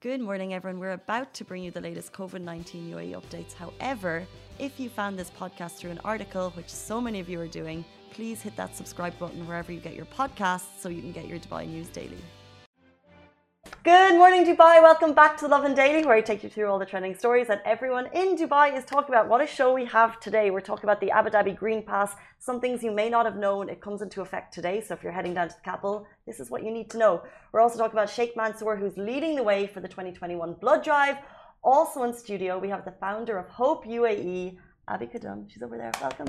Good morning, everyone. We're about to bring you the latest COVID-19 UAE updates. However, if you found this podcast through an article, which so many of you are doing, please hit that subscribe button wherever you get your podcasts so you can get your Dubai news daily. Good morning, Dubai. Welcome back to the Lovin Daily, where I take you through all the trending stories that everyone in Dubai is talking about. What a show we have today. We're talking about the Abu Dhabi Green Pass, some things you may not have known. It comes into effect today, so if you're heading down to the capital, this is what you need to know. We're also talking about Sheikh Mansour, who's leading the way for the 2021 blood drive. Also in studio, we have the founder of Hope UAE, Abby Kadum. She's over there. Welcome.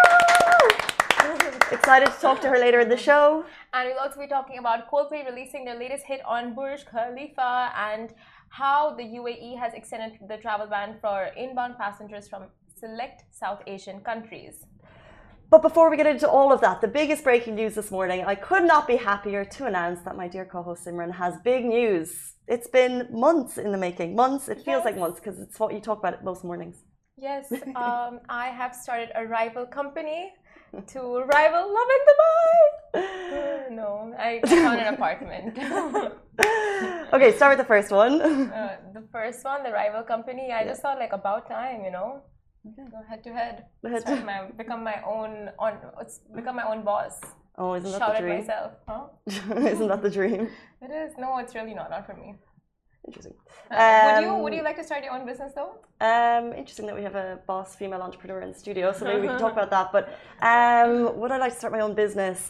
Excited to talk to her later in the show. And we'll also be talking about Coldplay releasing their latest hit on Burj Khalifa and how the UAE has extended the travel ban for inbound passengers from select South Asian countries. But before we get into all of that, the biggest breaking news this morning, I could not be happier to announce that my dear co-host Simran has big news. It's been months in the making. Months, it feels like months because it's what you talk about most mornings. Yes, I have started a rival company to rival Love in Dubai. No, I found an apartment. Okay, start with the first one. The first one, the rival company. I just thought like about time, you know. Okay. Go head to head. Become my own boss. Oh, isn't that Shout the at dream? myself, huh? Isn't that the dream? It is. No, it's really not for me. Interesting. Would you like to start your own business though? Interesting that we have a boss female entrepreneur in the studio, so maybe we can talk about that. But would I like to start my own business?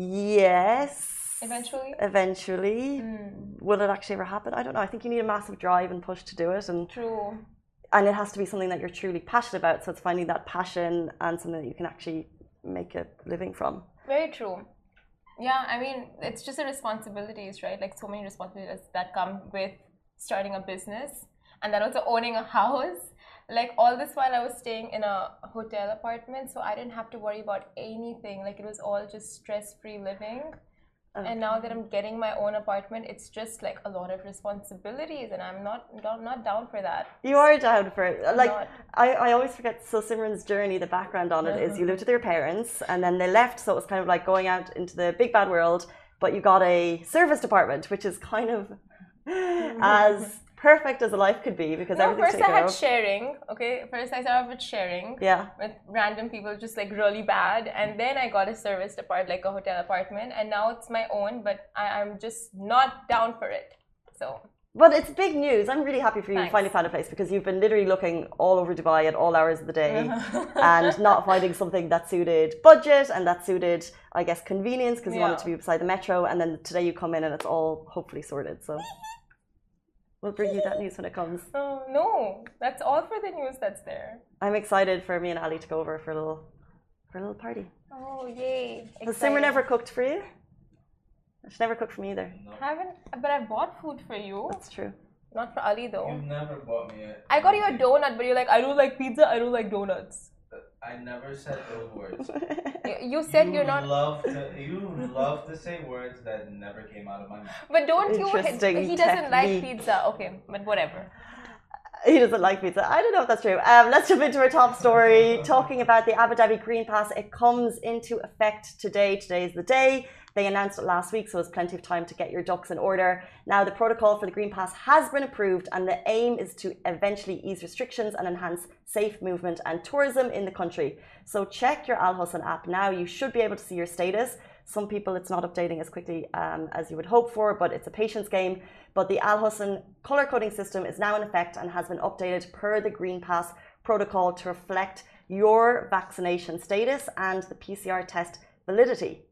Yes. Eventually? Eventually. Will it actually ever happen? I don't know. I think you need a massive drive and push to do it. True. And it has to be something that you're truly passionate about. So it's finding that passion and something that you can actually make a living from. Very true. Yeah, I mean, it's just the responsibilities, right? Like so many responsibilities that come with starting a business and then also owning a house. Like all this while I was staying in a hotel apartment, so I didn't have to worry about anything. Like it was all just stress-free living. Okay. And now that I'm getting my own apartment, it's just like a lot of responsibilities, and I'm not down for that. You are down for it. Like I always forget. So Simran's journey, the background on it is you lived with your parents, and then they left. So it was kind of like going out into the big bad world. But you got a serviced apartment, which is kind of as perfect as a life could be because everything's taken care of. First I had sharing, okay? First I started with sharing. Yeah. With random people, just like really bad. And then I got a serviced apartment, like a hotel apartment. And now it's my own, but I'm just not down for it. So. But it's big news. I'm really happy for you Thanks. finally found a place because you've been literally looking all over Dubai at all hours of the day and not finding something that suited budget and that suited, I guess, convenience because you wanted to be beside the metro. And then today you come in and it's all hopefully sorted. So. We'll bring you that news when it comes. Oh, no. That's all for the news that's there. I'm excited for me and Ali to go over for a little party. Oh, yay. Has Simran never cooked for you? She never cooked for me either. No. Haven't, but I bought food for you. That's true. Not for Ali though. You've never bought me I got you a donut, but you're like, I don't like pizza, I don't like donuts. I never said those words. You said you're not. You love to say words that never came out of my mouth. But don't you? He doesn't like pizza. Okay, but whatever. He doesn't like pizza. I don't know if that's true. Let's jump into our top story, talking about the Abu Dhabi Green Pass. It comes into effect today. Today is the day. They announced it last week, so there's plenty of time to get your ducks in order. Now, the protocol for the Green Pass has been approved, and the aim is to eventually ease restrictions and enhance safe movement and tourism in the country. So check your Al Hosn app now. You should be able to see your status. Some people, it's not updating as quickly as you would hope for, but it's a patience game. But the Al Hosn color coding system is now in effect and has been updated per the Green Pass protocol to reflect your vaccination status and the PCR test validity.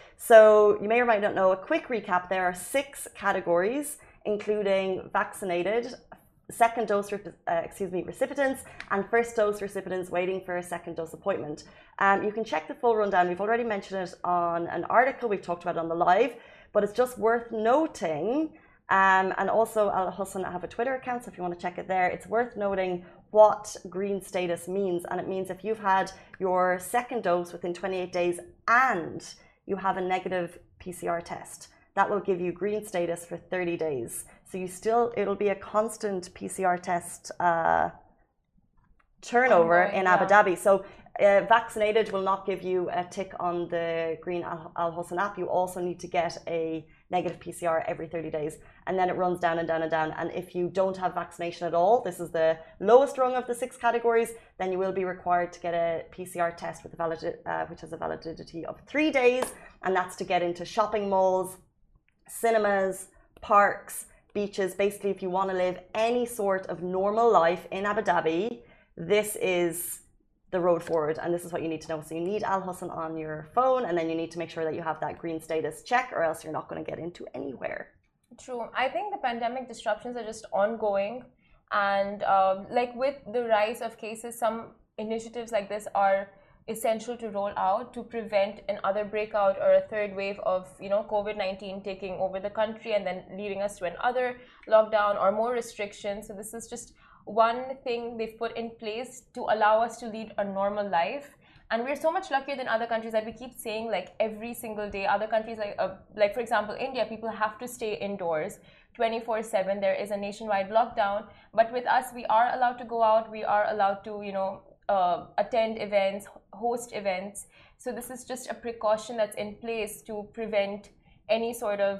So you may or might not know, a quick recap, there are 6 categories, including vaccinated, second dose recipients and first dose recipients waiting for a second dose appointment. You can check the full rundown. We've already mentioned it on an article we've talked about on the live, but it's just worth noting. And also Al Hosn have a Twitter account, so if you want to check it there, it's worth noting what green status means. And it means if you've had your second dose within 28 days and you have a negative PCR test, that will give you green status for 30 days. So it'll be a constant PCR test turnover in Abu Dhabi. So Vaccinated will not give you a tick on the Green Al Husn app. You also need to get a negative PCR every 30 days. And then it runs down and down and down. And if you don't have vaccination at all, this is the lowest rung of the 6 categories, then you will be required to get a PCR test with which has a validity of 3 days. And that's to get into shopping malls, cinemas, parks, beaches. Basically, if you want to live any sort of normal life in Abu Dhabi, this is the road forward, and this is what you need to know. So you need Al Husn on your phone, and then you need to make sure that you have that green status check, or else you're not going to get into anywhere. True. I think the pandemic disruptions are just ongoing, and like with the rise of cases, some initiatives like this are essential to roll out to prevent another breakout or a third wave of COVID-19 taking over the country and then leading us to another lockdown or more restrictions. So this is just one thing they've put in place to allow us to lead a normal life. And we're so much luckier than other countries that we keep saying, like, every single day. Other countries like for example India, people have to stay indoors 24/7. There is a nationwide lockdown, but with us we are allowed to go out, we are allowed to attend events, host events. So this is just a precaution that's in place to prevent any sort of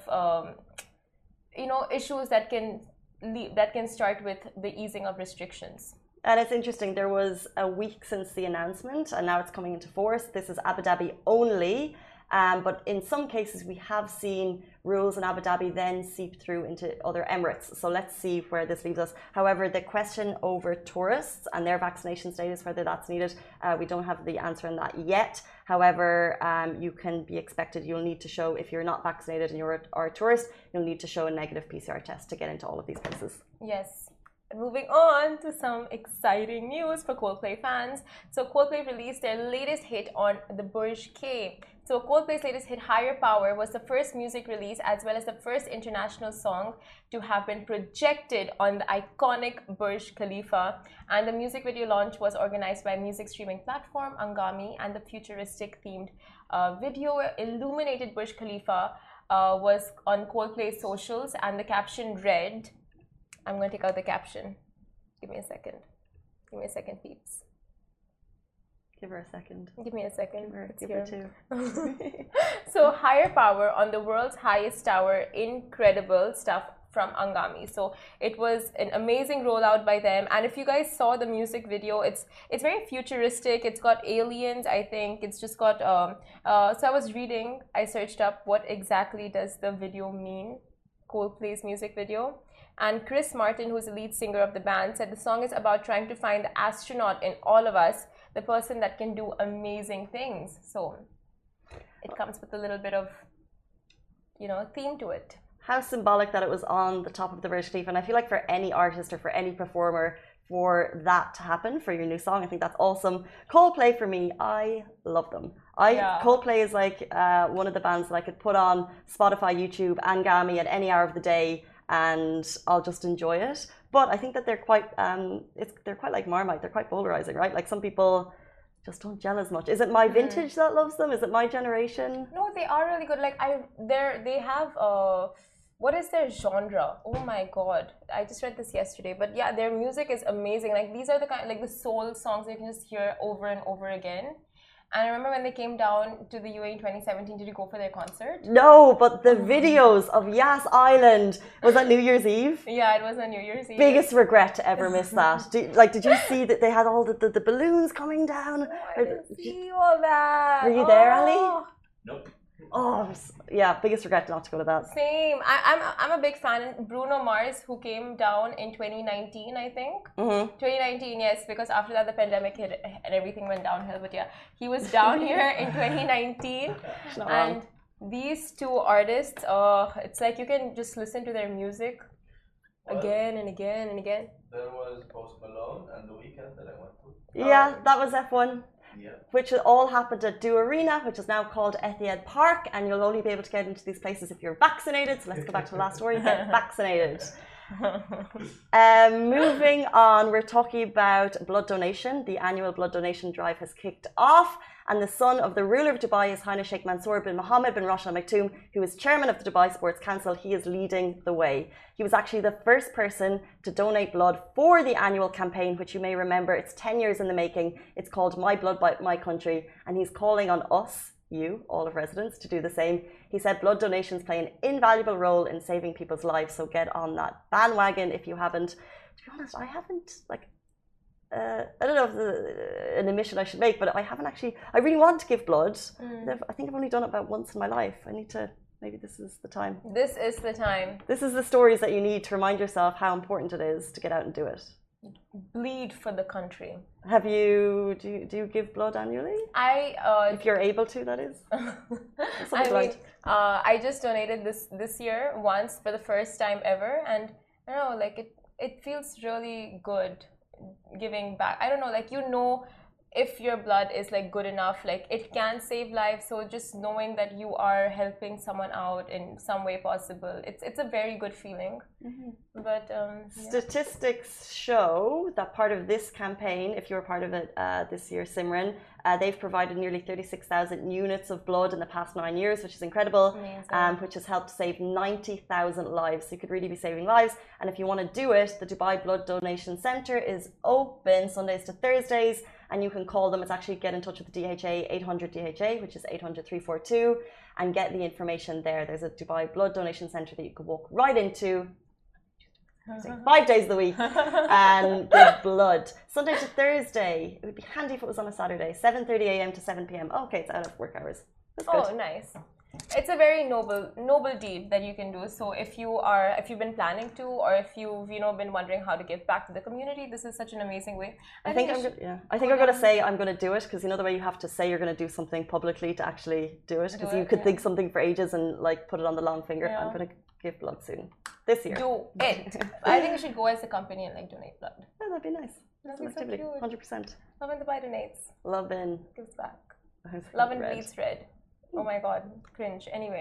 issues that can start with the easing of restrictions. And it's interesting, there was a week since the announcement and now it's coming into force. This is Abu Dhabi only, but in some cases we have seen rules in Abu Dhabi then seep through into other Emirates. So let's see where this leaves us. However, the question over tourists and their vaccination status, whether that's needed, we don't have the answer on that yet. However, you can be expected, you'll need to show, if you're not vaccinated and you're a tourist, you'll need to show a negative PCR test to get into all of these places. Yes. Moving on to some exciting news for Coldplay fans. So Coldplay released their latest hit on the Burj K. So Coldplay's latest hit, Higher Power, was the first music release as well as the first international song to have been projected on the iconic Burj Khalifa. And the music video launch was organized by music streaming platform Angami, and the futuristic themed video illuminated Burj Khalifa was on Coldplay's socials, and the caption read, I'm going to take out the caption. Give me a second. Give me a second, peeps. Give her a second. Give me a second. Give her two. So, Higher Power on the world's highest tower. Incredible stuff from Angami. So it was an amazing rollout by them. And if you guys saw the music video, it's very futuristic. It's got aliens, I think. It's just got so I was reading, I searched up what exactly does the video mean, Coldplay's music video. And Chris Martin, who's the lead singer of the band, said the song is about trying to find the astronaut in all of us, the person that can do amazing things. So it comes with a little bit of, theme to it. How symbolic that it was on the top of the Burj Khalifa. And I feel like for any artist or for any performer, for that to happen, for your new song, I think that's awesome. Coldplay, for me, I love them. Coldplay is like one of the bands that I could put on Spotify, YouTube, Angami at any hour of the day, and I'll just enjoy it. But I think that they're quite like Marmite. They're quite polarizing, right? Like some people just don't gel as much. Is it my vintage that loves them? Is it my generation? No, they are really good. Like they have what is their genre? Oh my god, I just read this yesterday. But yeah, their music is amazing. Like these are the kind, like the soul songs you can just hear over and over again. And I remember when they came down to the UAE in 2017, did you go for their concert? No, but the videos of Yas Island, was that New Year's Eve? Yeah, it was on New Year's Eve. Biggest regret to ever miss that. Did you see that they had all the balloons coming down? I didn't see all that. Were you there, Ali? Nope. Oh, yeah, biggest regret not to go to that. Same. I'm a big fan. Bruno Mars, who came down in 2019, I think. 2019, yes, because after that the pandemic hit and everything went downhill. But yeah, he was down here in 2019. And these two artists, it's like you can just listen to their music again and again and again. There was Post Malone and The Weeknd that I went to. Yeah, that was F1. Yeah. Which all happened at Do Arena, which is now called Etihad Park, and you'll only be able to get into these places if you're vaccinated. So let's go back to the last story, get vaccinated. Moving on, we're talking about blood donation. The annual blood donation drive has kicked off, and the son of the ruler of Dubai, His Highness Sheikh Mansour bin Mohammed bin Rashid Al Maktoum, who is chairman of the Dubai Sports Council. He is leading the way. He was actually the first person to donate blood for the annual campaign, which you may remember, it's 10 years in the making. It's called My Blood, My Country, and he's calling on us, you, all of residents, to do the same. He said blood donations play an invaluable role in saving people's lives, so get on that bandwagon if you haven't. To be honest, I haven't, I don't know if an admission I should make, but I haven't actually, I really want to give blood. I think I've only done it about once in my life. I need to, maybe this is the time. This is the time. This is the stories that you need to remind yourself how important it is to get out and do it. Bleed for the country. Have you, do you give blood annually? If you're able to, that is. I just donated this year once for the first time ever, and I don't know, like it feels really good giving back. I don't know, like, you know, if your blood is like good enough, like it can save lives. So just knowing that you are helping someone out in some way possible, it's a very good feeling. But statistics show that part of this campaign, if you're part of it this year, Simran, they've provided nearly 36,000 units of blood in the past 9 years, which is incredible, which has helped save 90,000 lives. So you could really be saving lives. And if you want to do it, the Dubai Blood Donation Centre is open Sundays to Thursdays, and you can call them. It's actually get in touch with the DHA, 800 DHA, which is 800-342, and get the information there. There's a Dubai Blood Donation Centre that you could walk right into 5 days of the week and give blood. Sunday to Thursday. It would be handy if it was on a Saturday, 7:30 a.m. to 7 p.m. Oh, okay, it's out of work hours. That's good. Oh, nice. It's a very noble deed that you can do. So if you've been planning to, or if you've been wondering how to give back to the community, this is such an amazing way. I think I'm going to say I'm going to do it, because you know the way you have to say you're going to do something publicly to actually do it, because you could think something for ages and like put it on the long finger. I'm going to give blood soon this year. Do it. I think you should go as a company and like donate blood. Yeah, that'd be nice. That's an activity. So cute. 100%. Love and Dubai donates. Love and gives back. Love and bleeds red. Oh my god, cringe. Anyway,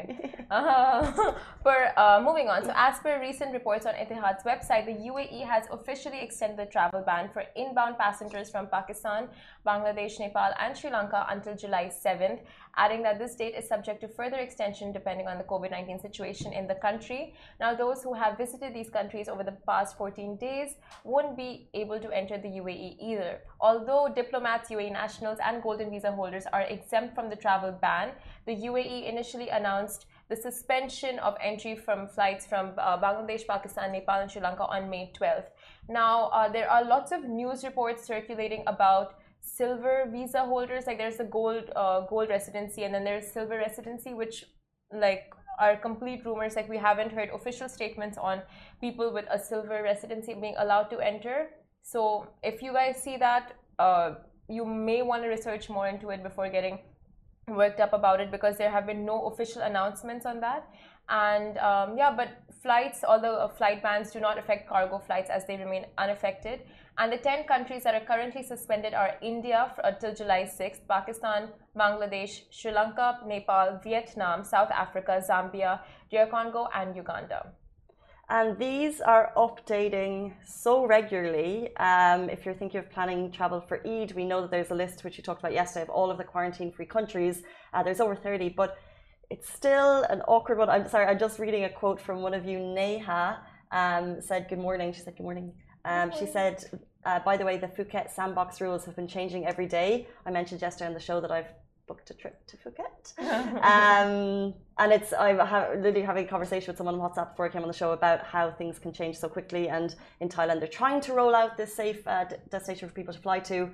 moving on. So as per recent reports on Etihad's website, the UAE has officially extended the travel ban for inbound passengers from Pakistan, Bangladesh, Nepal and Sri Lanka until July 7th, adding that this date is subject to further extension depending on the COVID-19 situation in the country. Now, those who have visited these countries over the past 14 days won't be able to enter the UAE either. Although diplomats, UAE nationals and golden visa holders are exempt from the travel ban, the UAE initially announced the suspension of entry from flights from Bangladesh, Pakistan, Nepal and Sri Lanka on May 12th. Now, there are lots of news reports circulating about silver visa holders. Like there's the gold residency, and then there's silver residency, which like are complete rumors. Like we haven't heard official statements on people with a silver residency being allowed to enter. So if you guys see that, you may want to research more into it before getting worked up about it, because there have been no official announcements on that. And but flights, although flight bans do not affect cargo flights as they remain unaffected. And the 10 countries that are currently suspended are India till July 6th, Pakistan, Bangladesh, Sri Lanka, Nepal, Vietnam, South Africa, Zambia, DR Congo and Uganda. And these are updating so regularly. If you're thinking of planning travel for Eid, we know that there's a list, which you talked about yesterday, of all of the quarantine-free countries. There's over 30, but it's still an awkward one. I'm sorry, I'm just reading a quote from one of you. Neha said, good morning. She said, good morning. She said, by the way, the Phuket sandbox rules have been changing every day. I mentioned yesterday on the show that I've booked a trip to Phuket. And I'm literally having a conversation with someone on WhatsApp before I came on the show about how things can change so quickly. And in Thailand, they're trying to roll out this safe destination for people to fly to.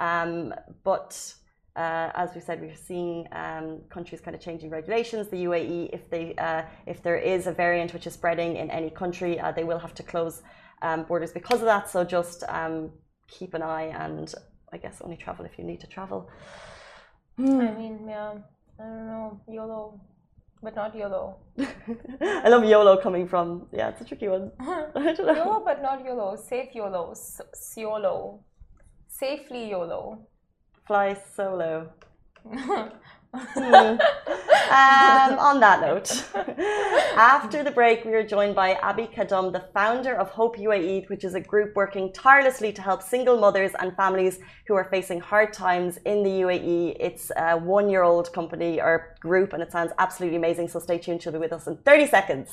But as we said, we're seeing countries kind of changing regulations. The UAE, if there is a variant which is spreading in any country, they will have to close borders because of that. So just keep an eye, and I guess only travel if you need to travel. I mean, yeah, I don't know, YOLO, but not YOLO. I love YOLO coming from, yeah, it's a tricky one. I don't know. YOLO, but not YOLO. Safe YOLO. YOLO. Safely YOLO. Fly solo. On that note, after the break, we are joined by Abi Kadum, the founder of Hope UAE, which is a group working tirelessly to help single mothers and families who are facing hard times in the UAE. It's a one-year-old company or group, and it sounds absolutely amazing. So stay tuned. She'll be with us in 30 seconds.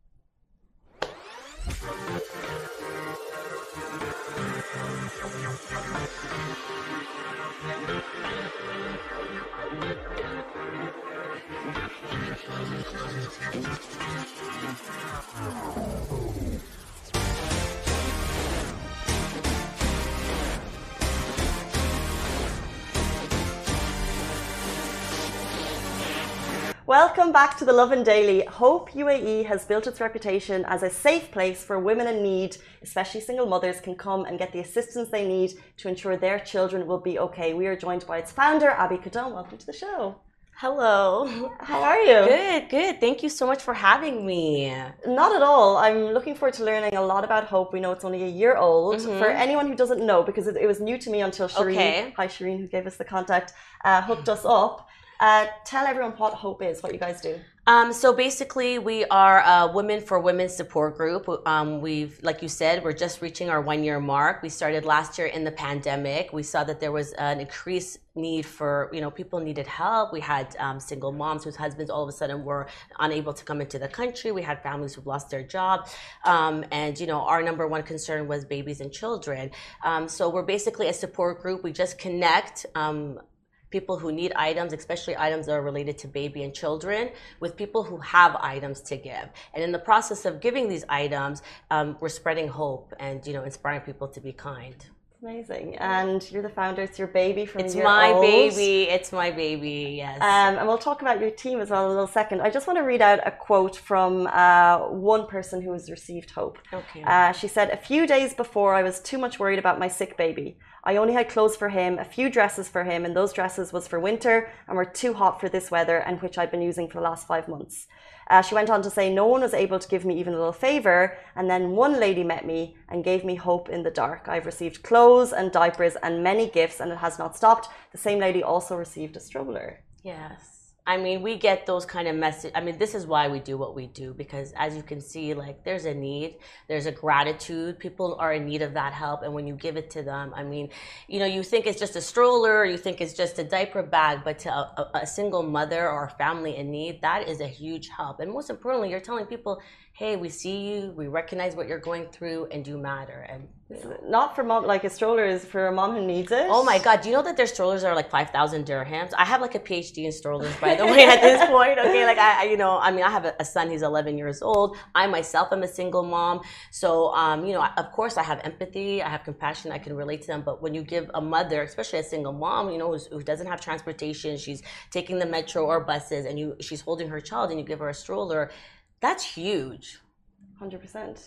Welcome back to the Lovin Daily. Hope UAE has built its reputation as a safe place for women in need, especially single mothers, can come and get the assistance they need to ensure their children will be okay. We are joined by its founder, Abi Kadum. Welcome to the show. Hello. How are you? Good, good. Thank you so much for having me. Not at all. I'm looking forward to learning a lot about Hope. We know it's only a year old. For anyone who doesn't know, because it was new to me until Shireen, hi Shireen, who gave us the contact, hooked us up. Tell everyone what Hope is, what you guys do. So basically, we are a Women for Women support group. We've, like you said, we're just reaching our 1-year mark. We started last year in the pandemic. We saw that there was an increased need for, people needed help. We had single moms whose husbands all of a sudden were unable to come into the country. We had families who've lost their job. And, our number one concern was babies and children. So we're basically a support group. We just connect people who need items, especially items that are related to baby and children, with people who have items to give. And in the process of giving these items, we're spreading hope and, inspiring people to be kind. Amazing. And you're the founder. It's your baby from It's your my old. baby. It's my baby, yes. And we'll talk about your team as well in a little second. I just want to read out a quote from one person who has received Hope. Okay. She said, "A few days before, I was too much worried about my sick baby. I only had clothes for him, a few dresses for him, and those dresses was for winter and were too hot for this weather, and which I've been using for the last 5 months." She went on to say, "No one was able to give me even a little favor, and then one lady met me and gave me hope in the dark. I've received clothes and diapers and many gifts, and it has not stopped." The same lady also received a stroller. Yes. We get those kind of messages. This is why we do what we do, because as you can see, there's a need, there's a gratitude. People are in need of that help. And when you give it to them, you think it's just a stroller, you think it's just a diaper bag, but to a single mother or a family in need, that is a huge help. And most importantly, you're telling people, hey, we see you, we recognize what you're going through, and you matter. And not for mom, a stroller is for a mom who needs it. Oh my God, do you know that their strollers are 5,000 dirhams? I have a PhD in strollers, by the way, at this point. Okay, I have a son, he's 11 years old. I myself am a single mom. So, of course I have empathy, I have compassion, I can relate to them. But when you give a mother, especially a single mom, who doesn't have transportation, she's taking the metro or buses, and she's holding her child, and you give her a stroller, that's huge. 100%.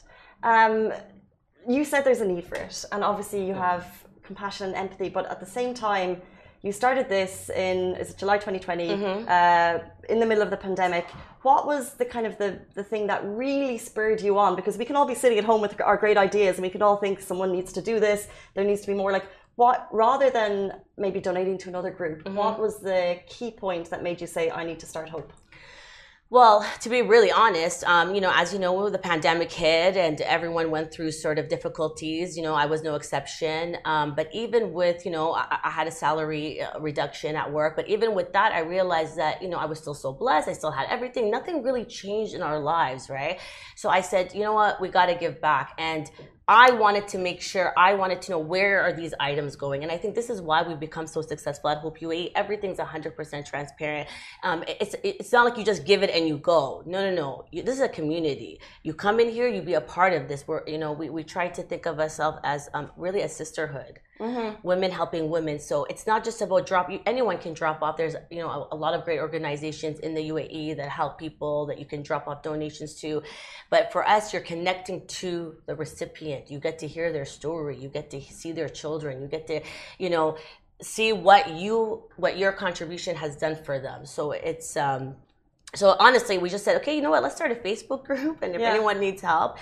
You said there's a need for it, and obviously you have compassion and empathy, but at the same time, you started this in July 2020, in the middle of the pandemic. What was the the thing that really spurred you on? Because we can all be sitting at home with our great ideas, and we could all think someone needs to do this. There needs to be more what, rather than maybe donating to another group, what was the key point that made you say, I need to start Hope? Well, to be really honest, as you know, the pandemic hit and everyone went through sort of difficulties. I was no exception. But even with, I had a salary reduction at work. But even with that, I realized that, I was still so blessed. I still had everything. Nothing really changed in our lives, right? So I said, you know what, we got to give back. And I wanted to make sure, I wanted to know where are these items going. And I think this is why we've become so successful at Hope UAE. Everything's 100% transparent. It's not like you just give it and you go. No. This is a community. You come in here, you be a part of this. We try to think of ourselves as really a sisterhood. Women helping women. So it's not just about anyone can drop off. There's a lot of great organizations in the UAE that help people that you can drop off donations to. But for us, you're connecting to the recipient. You get to hear their story. You get to see their children. You get to see what your contribution has done for them. So it's so honestly, we just said, okay, you know what, let's start a Facebook group, and if anyone needs help.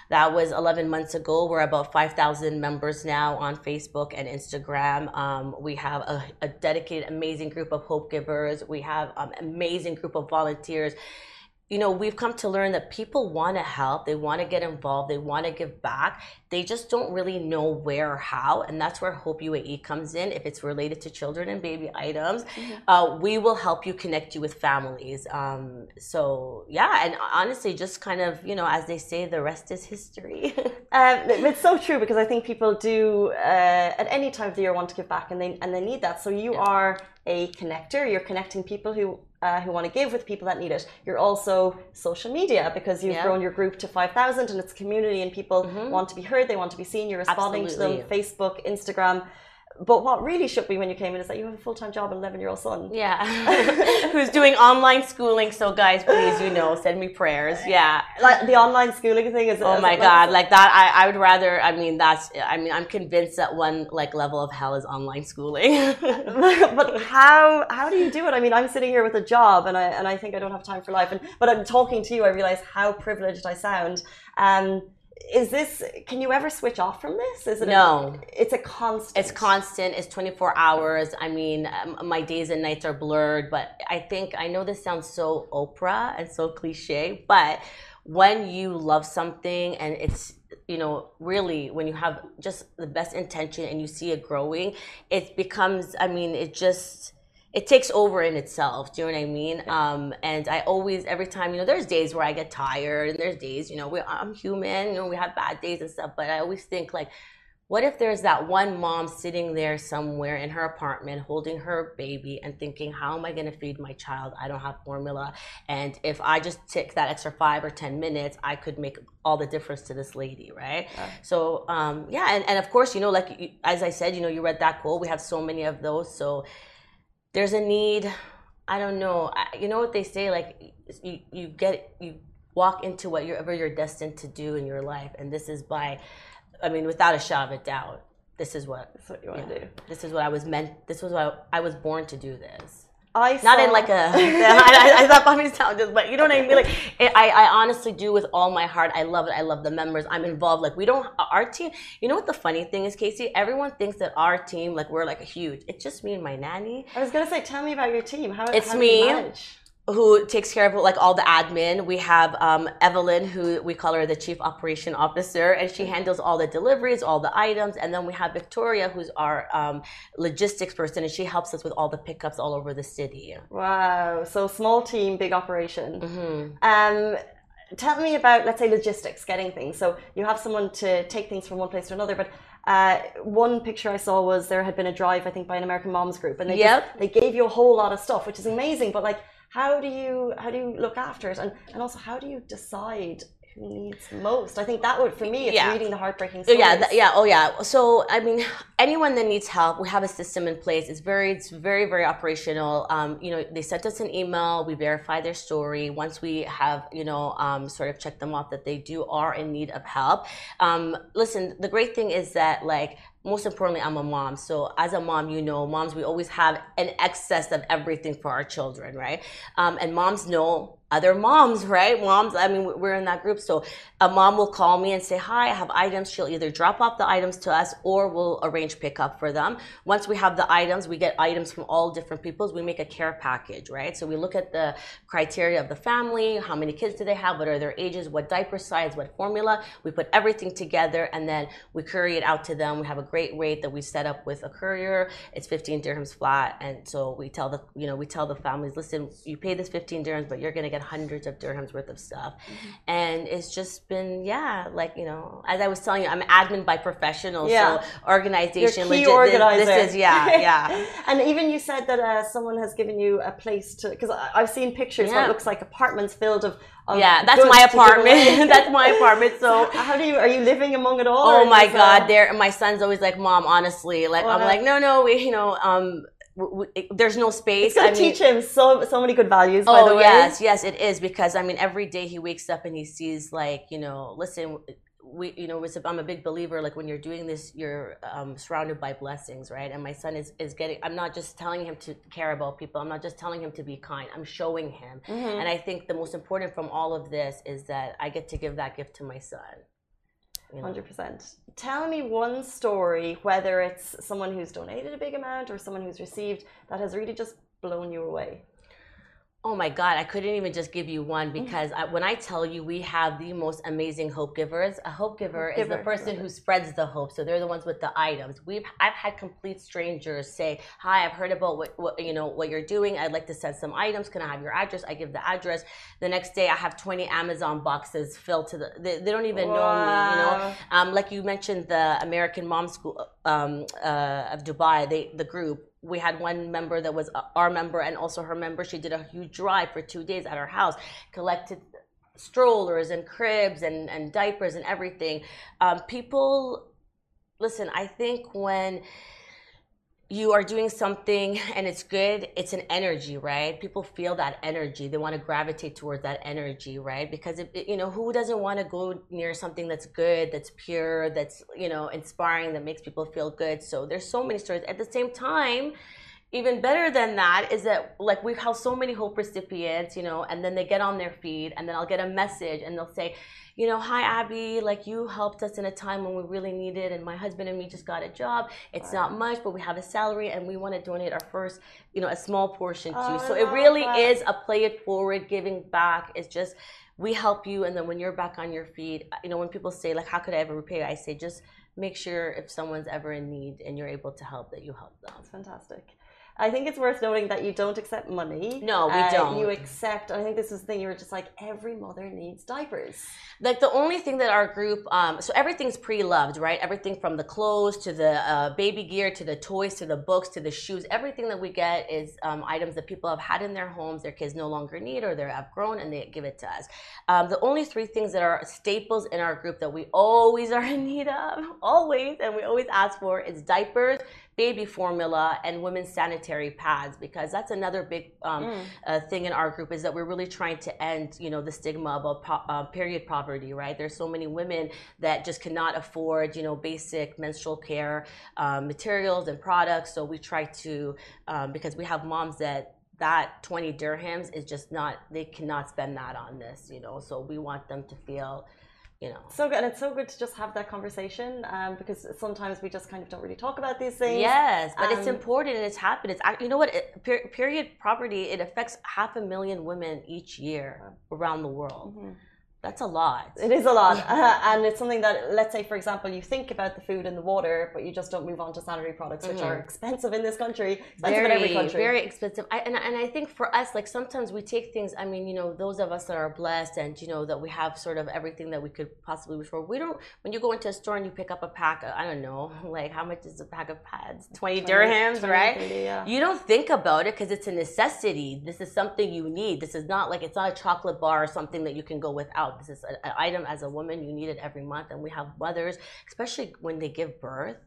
That was 11 months ago. We're about 5,000 members now on Facebook and Instagram. We have a dedicated, amazing group of hope givers. We have an amazing group of volunteers. You know, we've come to learn that people want to help, they want to get involved, they want to give back. They just don't really know where or how, and that's where Hope UAE comes in. If it's related to children and baby items, we will help you, connect you with families. So yeah, and honestly, just kind of, you know, as they say, the rest is history. It's so true, because I think people do at any time of the year want to give back, and they need that. So you are a connector. You're connecting people who want to give with people that need it. You're also social media, because you've grown your group to 5,000 and it's a community, and people want to be heard, they want to be seen. You're responding to them, Facebook, Instagram. But what really shook me when you came in is that you have a full-time job and 11-year-old son. Yeah. Who's doing online schooling. So guys, please, you know, send me prayers. Yeah. Like the online schooling thing is... Oh my God. Like that, I would rather, I'm convinced that one like level of hell is online schooling. But how do you do it? I mean, I'm sitting here with a job and I think I don't have time for life. But I'm talking to you, I realize how privileged I sound. Can you ever switch off from this? Is it no? It's a constant. It's constant. It's 24 hours. I mean, my days and nights are blurred, but I know this sounds so Oprah and so cliche, but when you love something and it's, you know, really when you have just the best intention and you see it growing, it becomes, I mean, it takes over in itself. Do you know what I mean? And I always, every time, you know, there's days where I get tired, and there's days, you know, I'm human, you know, we have bad days and stuff, but I always think like, what if there's that one mom sitting there somewhere in her apartment holding her baby and thinking, how am I going to feed my child? I don't have formula. And if I just take that extra 5 or 10 minutes, I could make all the difference to this lady, right? Yeah. So, and of course, you know, like, as I said, you know, you read that quote, we have so many of those. So there's a need. I don't know. You know what they say, like, you walk into whatever you're destined to do in your life. And this is without a shadow of a doubt, this is what you want to do. This is what I was meant. This was what I was born to do this. Not in like a, I thought probably sound just, but you know what I mean? Like, I honestly do with all my heart. I love it. I love the members. I'm involved. Like, our team, you know what the funny thing is, Casey? Everyone thinks that our team, like, we're like a huge, it's just me and my nanny. I was going to say, tell me about your team. How do you manage? Who takes care of like all the admin. We have Evelyn, who we call her the Chief Operation Officer, and she handles all the deliveries, all the items. And then we have Victoria, who's our logistics person, and she helps us with all the pickups all over the city. Wow. So small team, big operation. Tell me about, let's say, logistics, getting things. So you have someone to take things from one place to another, but one picture I saw was there had been a drive, I think, by an American Moms group, and they gave you a whole lot of stuff, which is amazing. But like, how do you look after it, and also how do you decide who needs most? I think that would, for me, it's reading the heartbreaking stories. So I mean, anyone that needs help, we have a system in place. It's very, very operational. You know, they sent us an email, we verify their story. Once we have, you know, sort of checked them off that they are in need of help. Listen, the great thing is that, like, most importantly, I'm a mom. So as a mom, you know, moms, we always have an excess of everything for our children, right? And moms know other moms, right? Moms, I mean, we're in that group. So a mom will call me and say, hi, I have items. She'll either drop off the items to us or we'll arrange pickup for them. Once we have the items, we get items from all different peoples. We make a care package, right? So we look at the criteria of the family, how many kids do they have, what are their ages, what diaper size, what formula. We put everything together and then we courier it out to them. We have a great rate that we set up with a courier. It's 15 dirhams flat. And so we tell the families, listen, you pay this 15 dirhams, but you're going to get hundreds of dirhams worth of stuff. And it's just been, like, you know, as I was telling you, I'm admin by professional, so organization, key organizer. This is, And even you said that someone has given you a place to, because I've seen pictures where it looks like apartments filled of that's my apartment. That's my apartment. So how are you living among it all? Oh my God, my son's always like, Mom, honestly, like, I'm like, no, there's no space. It's gonna teach him so many good values, by the way. Yes, it is, because I mean, every day he wakes up and he sees, like, you know, listen, I'm a big believer, like, when you're doing this, you're surrounded by blessings, right? And my son is getting, I'm not just telling him to care about people, I'm not just telling him to be kind, I'm showing him. And I think the most important from all of this is that I get to give that gift to my son. You know? 100%. Tell me one story, whether it's someone who's donated a big amount or someone who's received, that has really just blown you away. Oh my God, I couldn't even just give you one because when I tell you we have the most amazing hope givers, a hope giver is the person who spreads the hope. So they're the ones with the items. I've had complete strangers say, "Hi, I've heard about what you're doing. I'd like to send some items. Can I have your address?" I give the address. The next day, I have 20 Amazon boxes filled to they don't even know me. Like you mentioned, the American Mom School of Dubai, the group. We had one member that was our member and also her member. She did a huge drive for 2 days at our house, collected strollers and cribs and diapers and everything. People, listen, I think when you are doing something and it's good, it's an energy, right? People feel that energy. They want to gravitate towards that energy, right? Because who doesn't want to go near something that's good, that's pure, that's inspiring, that makes people feel good. So there's so many stories. At the same time, even better than that is that like we have so many hope recipients, and then they get on their feed and then I'll get a message and they'll say, "Hi Abby, like you helped us in a time when we really needed, and my husband and me just got a job. It's not much, but we have a salary and we want to donate our first, a small portion to you." So it really is a play it forward, giving back. It's just we help you, and then when you're back on your feet, when people say like, "How could I ever repay you?" I say just make sure if someone's ever in need and you're able to help, that you help them. That's fantastic. I think it's worth noting that you don't accept money. No, we don't. You accept, I think this is the thing, you were just like, every mother needs diapers. Like the only thing that our group, so everything's pre-loved, right? Everything from the clothes to the baby gear to the toys to the books to the shoes. Everything that we get is items that people have had in their homes, their kids no longer need, or they have grown and they give it to us. The only 3 things that are staples in our group that we always are in need of, always, and we always ask for is diapers, baby formula, and women's sanitary pads, because that's another big thing in our group, is that we're really trying to end, the stigma about period poverty, right? There's so many women that just cannot afford, basic menstrual care materials and products. So we try to, because we have moms that 20 dirhams is just not, they cannot spend that on this, so we want them to feel, So good, and it's so good to just have that conversation because sometimes we just kind of don't really talk about these things. Yes, but it's important and it's happened. It's period poverty. It affects 500,000 women each year around the world. That's a lot. It is a lot. And it's something that, let's say, for example, you think about the food and the water, but you just don't move on to sanitary products, which are expensive in this country, expensive in every country. Very expensive. And I think for us, like sometimes we take things, those of us that are blessed and, that we have sort of everything that we could possibly wish for. We don't, when you go into a store and you pick up a pack, I don't know, like how much is a pack of pads? 20 dirhams, right? 30, yeah. You don't think about it because it's a necessity. This is something you need. This is not like, it's not a chocolate bar or something that you can go without. This is an item as a woman, you need it every month. And we have mothers, especially when they give birth.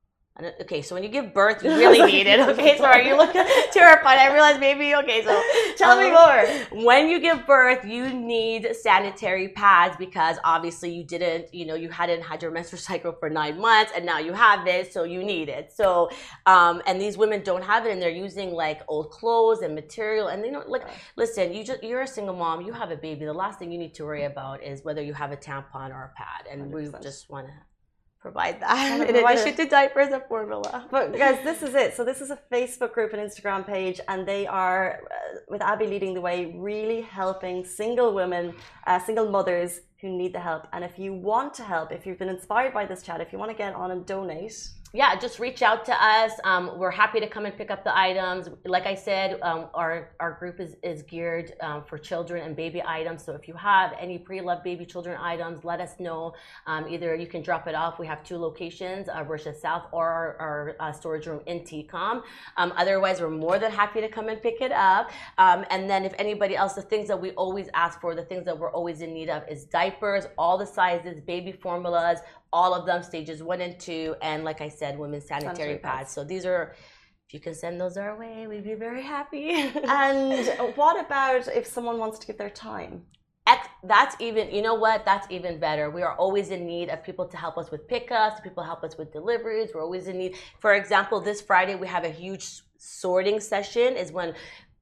Okay, so when you give birth, you really need it. Okay, sorry, you look terrified. I realized maybe, okay, so tell me more. When you give birth, you need sanitary pads because obviously you didn't, you hadn't had your menstrual cycle for 9 months and now you have it, so you need it. So, and these women don't have it and they're using like old clothes and material and they don't, like, listen, you're a single mom, you have a baby. The last thing you need to worry about is whether you have a tampon or a pad. And 100%. We just want to provide that in addition to diapers and formula. But guys, this is it. So this is a Facebook group and Instagram page, and they are, with Abby leading the way, really helping single women, single mothers who need the help. And if you want to help, if you've been inspired by this chat, if you want to get on and donate, just reach out to us. We're happy to come and pick up the items. Like I said, our group is geared for children and baby items. So if you have any pre-loved baby children items, let us know. Either you can drop it off. We have 2 locations, Russia South or our storage room in TCOM. Otherwise, we're more than happy to come and pick it up. And then if anybody else, the things that we always ask for, the things that we're always in need of is diapers, all the sizes, baby formulas, all of them, stages 1 and 2, and like I said, women's sanitary pads. So these are, if you can send those our way, we'd be very happy. And what about if someone wants to give their time? That's even, that's even better. We are always in need of people to help us with pickups, people help us with deliveries. We're always in need. For example, this Friday, we have a huge sorting session, is when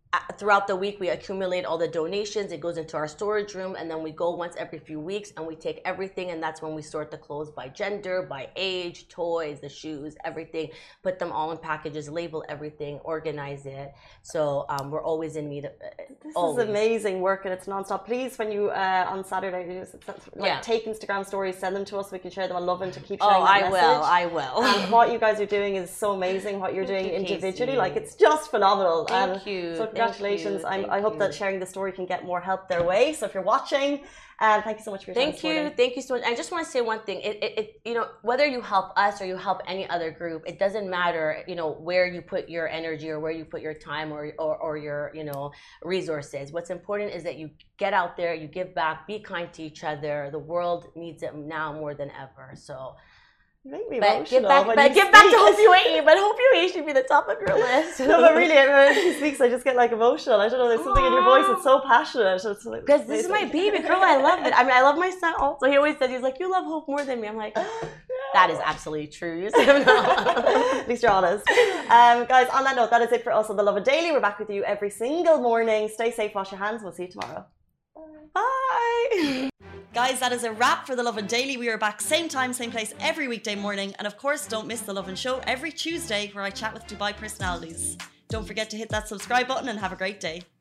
throughout the week, we accumulate all the donations. It goes into our storage room, and then we go once every few weeks and we take everything, and that's when we sort the clothes by gender, by age, toys, the shoes, everything, put them all in packages, label everything, organize it. So we're always in need of This is amazing work, and it's nonstop. Please, when you on Saturday, take Instagram stories, send them to us. We can share them. I love them to keep sharing that message. I will. And what you guys are doing is so amazing. What you're doing individually, like it's just phenomenal. Thank you. So congratulations. I hope that sharing the story can get more help their way. So if you're watching, thank you so much for your time. Thank you so much. I just want to say one thing. Whether you help us or you help any other group, it doesn't matter. Where you put your energy or where you put your time or your resources. What's important is that you get out there, you give back, be kind to each other. The world needs it now more than ever. So. Make me emotional. Get back to Hope UAE, but Hope UAE should be the top of your list. No, but really, when she speaks, I just get like emotional. I don't know, there's something in your voice that's so passionate. Because this is my baby girl, I love it. I mean, I love my son also. He always says, he's like, you love Hope more than me. I'm like, that is absolutely true. At least you're honest. Guys, on that note, that is it for us on The Lovin Daily. We're back with you every single morning. Stay safe, wash your hands. We'll see you tomorrow. Bye. Guys, that is a wrap for The Lovin Daily. We are back same time, same place every weekday morning. And of course, don't miss The Lovin Show every Tuesday where I chat with Dubai personalities. Don't forget to hit that subscribe button and have a great day.